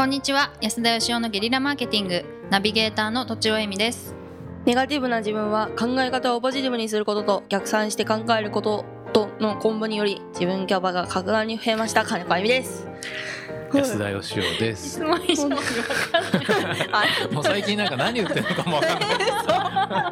んにちは。安田義雄のゲリラマーケティングナビゲーターのとちおえみです。 ネガティブな自分は考え方をポジティブにすることと逆算して考えることとのコンボにより自分キャパが格段に増えました金子あゆみです。 安田義雄です。 質問以上に分かんないもう最近なんか何言ってるのかも分かんないなか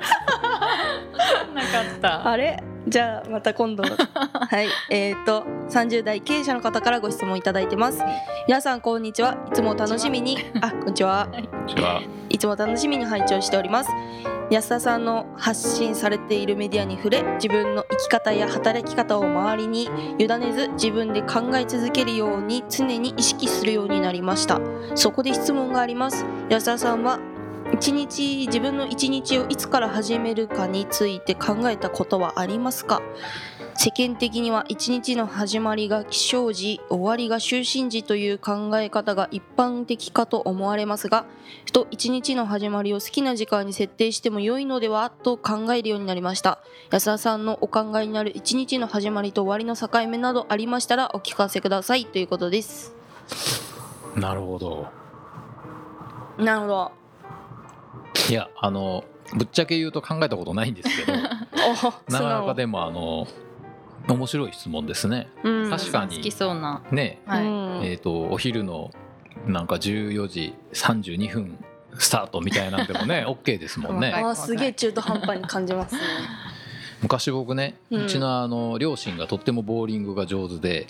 ったあれじゃあまた今度はい30代経営者の方からご質問いただいてます。皆さんこんにちは。いつも楽しみにこんにちは。いつも楽しみに拝聴しております。安田さんの発信されているメディアに触れ、自分の生き方や働き方を周りに委ねず自分で考え続けるように常に意識するようになりました。そこで質問があります。安田さんは自分の一日をいつから始めるかについて考えたことはありますか？世間的には一日の始まりが起床時、終わりが就寝時という考え方が一般的かと思われますが、ふと一日の始まりを好きな時間に設定しても良いのではと考えるようになりました。安田さんのお考えになる一日の始まりと終わりの境目などありましたらお聞かせくださいということです。 なるほど。 なるほど。 いやぶっちゃけ言うと考えたことないんですけどなかなかでも面白い質問ですね、確かに好きそうなね、 はい、 お昼のなんか14時32分スタートみたいなんでもねOK ですもんね。 すげえ中途半端に感じますね昔僕ね、うちの両親がとってもボーリングが上手で、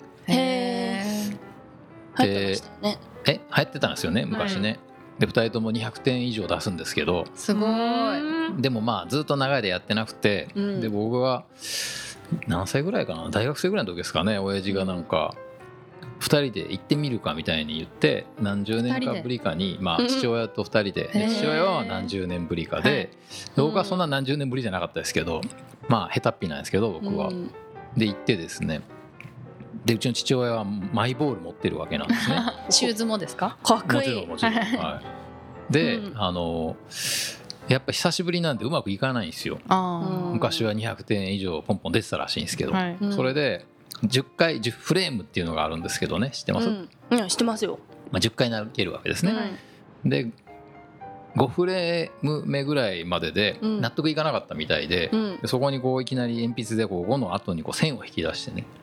流行ってましたよね。 流行ってたんですよね昔ね、で2人とも200点以上出すんですけど、 すごい。 でもまあずっと長いでやってなくて、で僕が何歳ぐらいかな、大学生ぐらいの時ですかね、親父がなんか2人で行ってみるかみたいに言って、何十年かぶりかに父親と2人で、父親は何十年ぶりかで、僕はそんな何十年ぶりじゃなかったですけど、まあ下手っぴなんですけど僕は、で行ってですね、でうちの父親はマイボール持ってるわけなんですねシューズもですか？ かっこいい。 もちろん、はい、で、やっぱ久しぶりなんでうまくいかないんですよ。昔は200点以上ポンポン出てたらしいんですけど、それで10回10フレームっていうのがあるんですけどね、知ってます？ 知ってますよ。 10回投げるわけですね、で5フレーム目ぐらいまでで納得いかなかったみたいで、そこにこういきなり鉛筆で5の後にこう線を引き出してね、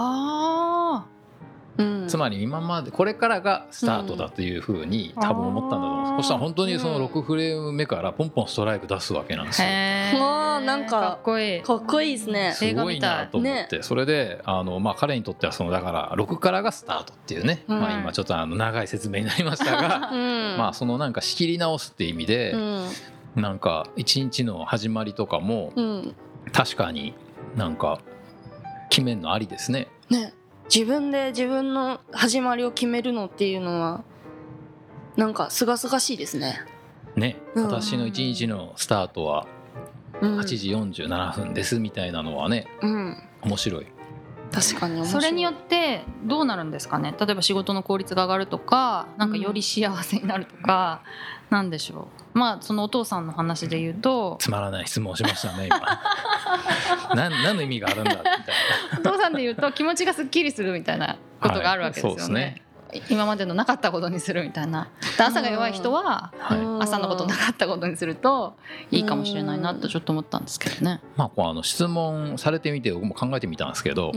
つまり今までこれからがスタートだというふうに多分思ったんだと思うんです。そしたら本当にその6フレーム目からポンポンストライク出すわけなんですよ。 なんかかっこいいですね。 すごいなと思って、それで彼にとってはだから6からがスタートっていうね、今ちょっと長い説明になりましたが、そのなんか仕切り直すっていう意味で、なんか一日の始まりとかも確かになんか決めんのありですね。 自分で自分の始まりを決めるのっていうのはなんかすがすがしいですね。 私の一日のスタートは8時47分ですみたいなのはね、面白い。 確かに面白い。 それによってどうなるんですかね。例えば仕事の効率が上がるとか、なんかより幸せになるとか、なんでしょう。そのお父さんの話で言うと、 つまらない質問しましたね今何の意味があるんだみたいな。お父さんで言うと気持ちがすっきりするみたいなことがあるわけですよね。そうですね。今までのなかったことにするみたいな。朝が弱い人は朝のことなかったことにするといいかもしれないなとちょっと思ったんですけどね。 質問されてみて僕も考えてみたんですけど、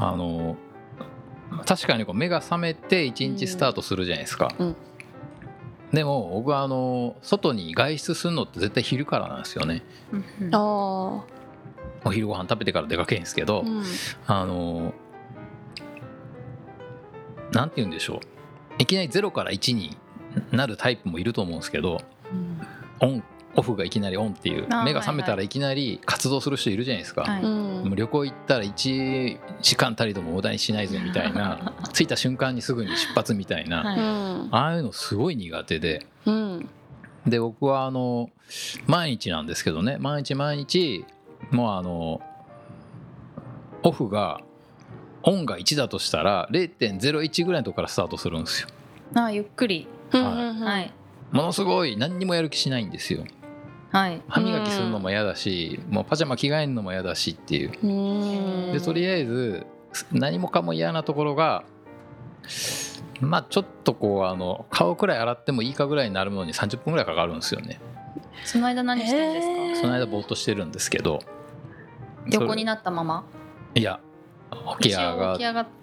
確かに目が覚めて一日スタートするじゃないですか、でも僕は外に外出するのって絶対昼からなんですよね。お昼ご飯食べてから出かけるんですけど、なんて言うんでしょう、いきなり0から1になるタイプもいると思うんですけど、オフがいきなりオンっていう、目が覚めたらいきなり活動する人いるじゃないですか、もう旅行行ったら1時間たりとも無駄にしないぞみたいな着いた瞬間にすぐに出発みたいな、ああいうのすごい苦手で、で僕は毎日なんですけどね、毎日もうオフがオンが1だとしたら 0.01 ぐらいのとこからスタートするんですよ。 ゆっくり、 ものすごい何にもやる気しないんですよ。歯磨きするのも嫌だし、もうパジャマ着替えるのも嫌だしっていう、でとりあえず何もかも嫌なところがまあちょっとこう顔くらい洗ってもいいかぐらいになるのに30分ぐらいかかるんですよね。 その間何してるんですか？ その間ぼーっとしてるんですけど、 横になったまま？ いや起き上がって、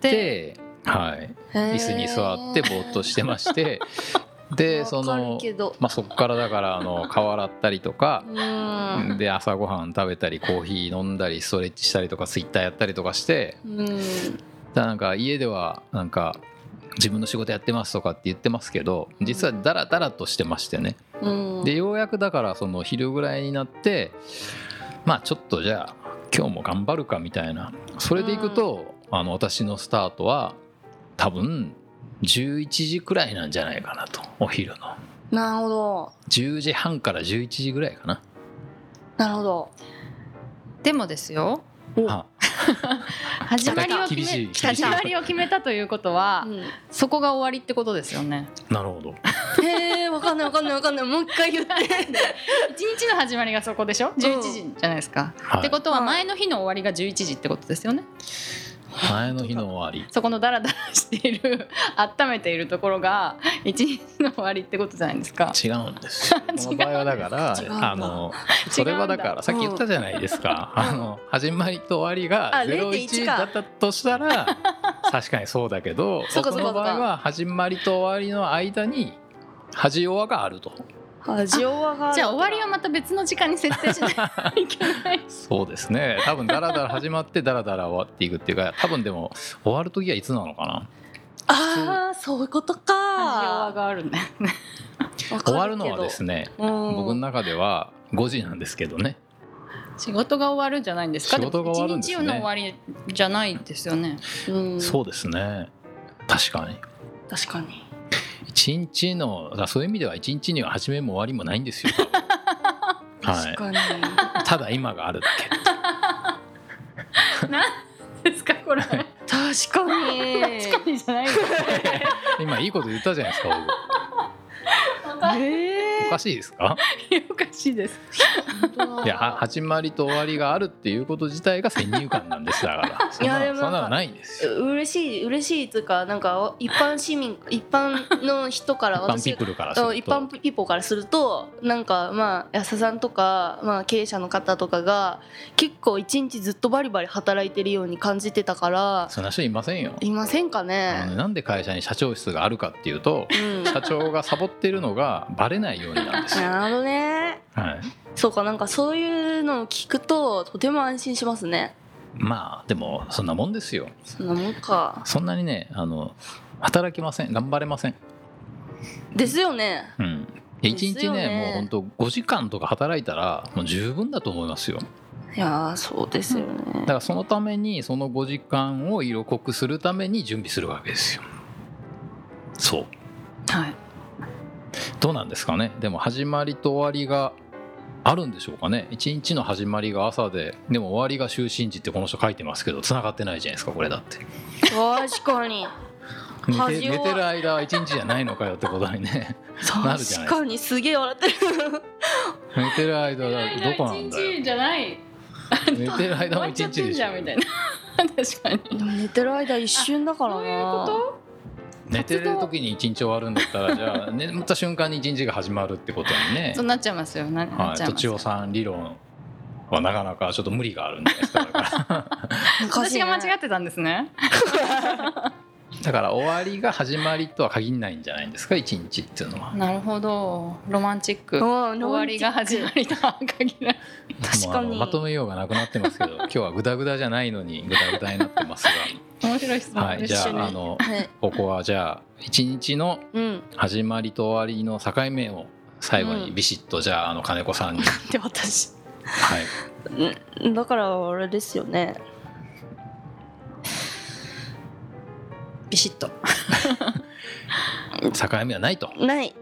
はい、椅子に座ってぼーっとしてましてでそこからだから顔洗ったりとかで朝ごはん食べたりコーヒー飲んだりストレッチしたりとかツイッターやったりとかしてなんか家ではなんか自分の仕事やってますとかって言ってますけど実はダラダラとしてましてね。でようやくだからその昼ぐらいになってまあちょっとじゃあ今日も頑張るかみたいなそれでいくと私のスタートは多分11時くらいなんじゃないかなとお昼の。 なるほど。 10時半から11時ぐらいかな。 なるほど。 でもですよ始まりを決めたということは、そこが終わりってことですよね。 なるほど。 わかんないもう一回言って一日の始まりがそこでしょ。11時じゃないですか、ってことは前の日の終わりが11時ってことですよね。 前の日の終わりそこのダラダラしている温めているところが一日の終わりってことじゃないですか。 違うんですよこの場合はだからそれはだからさっき言ったじゃないですか始まりと終わりが01だったとしたら確かにそうだけど僕の場合は始まりと終わりの間に恥弱があると。 じゃあ終わりはまた別の時間に設定しないといけないそうですね。多分ダラダラ始まってダラダラ終わっていくっていうか多分でも終わる時はいつなのかな。そういうことか。 恥弱があるんだよね終わるのはですね、僕の中では5時なんですけどね。 仕事が終わるんじゃないんですか。 仕事が終わるんですね。 一日の終わりじゃないですよね。 そうですね。確かに一日のそういう意味では一日には始めも終わりもないんですよ確かに、 ただ今があるだけ何ですかこれ。確かにじゃない今いいこと言ったじゃないですかおかしいですか。 おかしいです。 いや始まりと終わりがあるっていうこと自体が先入観なんですだからそんなのないんですよ。 嬉しいっていうかなんか一般の人から一般ピープルからすると一般ピーポーからするとなんかまあ安田さんとか、まあ、経営者の方とかが結構一日ずっとバリバリ働いてるように感じてたから。 そんな人いませんよ。 いませんかね。 なんで会社に社長室があるかっていうと、社長がサボってるのがバレないようになんですよ。 なるほどね。そうかなんかそういうのを聞くととても安心しますね。 まあでもそんなもんですよ。 そんなもんか。 そんなにね働きません。頑張れませんですよね。 一日ねもうほんと5時間とか働いたらもう十分だと思いますよ。 いやそうですよね。 だからそのためにその5時間を色濃くするために準備するわけですよ。そうどうなんですかね。でも始まりと終わりがあるんでしょうかね。一日の始まりが朝ででも終わりが就寝時ってこの人書いてますけど繋がってないじゃないですかこれだって。 確かに寝てる間は一日じゃないのかよってことにねなるじゃないですか。 確かにすげえ笑ってる寝てる間はどこなんだよ。 一日じゃない寝てる間も一日でしょみたいな確かに。 でも寝てる間一瞬だからな。 そういうこと。 寝てる時に一日終わるんだったらじゃあ眠った瞬間に一日が始まるってことにねそうなっちゃいますよ。 とちおさん理論はなかなかちょっと無理があるんじゃないですか。だから私が間違ってたんですねだから終わりが始まりとは限らないんじゃないんですか一日っていうのは。 なるほどロマンチック。終わりが始まりとは限らない。 確かにまとめようがなくなってますけど今日はグダグダじゃないのにグダグダになってますが面白い質問、 じゃあここはじゃあ一日の始まりと終わりの境目を最後にビシッとじゃあ金子さんに。 で私だからあれですよね。 ビシッと境目はないと。 ない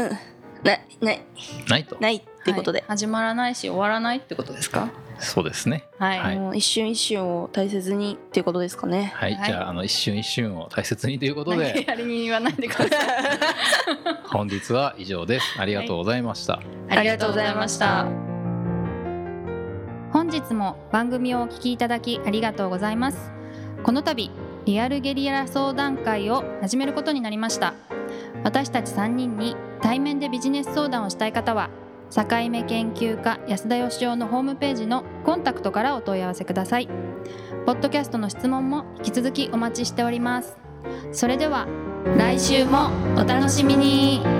ないってことで、 始まらないし終わらないってことですか。 そうですね。 もう一瞬一瞬を大切にっていうことですかね。 じゃあ一瞬一瞬を大切にということでやりに言わないでください本日は以上です。ありがとうございました。 ありがとうございました。 本日も番組をお聞きいただきありがとうございます。この度リアルゲリラ相談会を始めることになりました。私たち3人に対面でビジネス相談をしたい方は、境目研究家安田義雄のホームページのコンタクトからお問い合わせください。ポッドキャストの質問も引き続きお待ちしております。それでは来週もお楽しみに。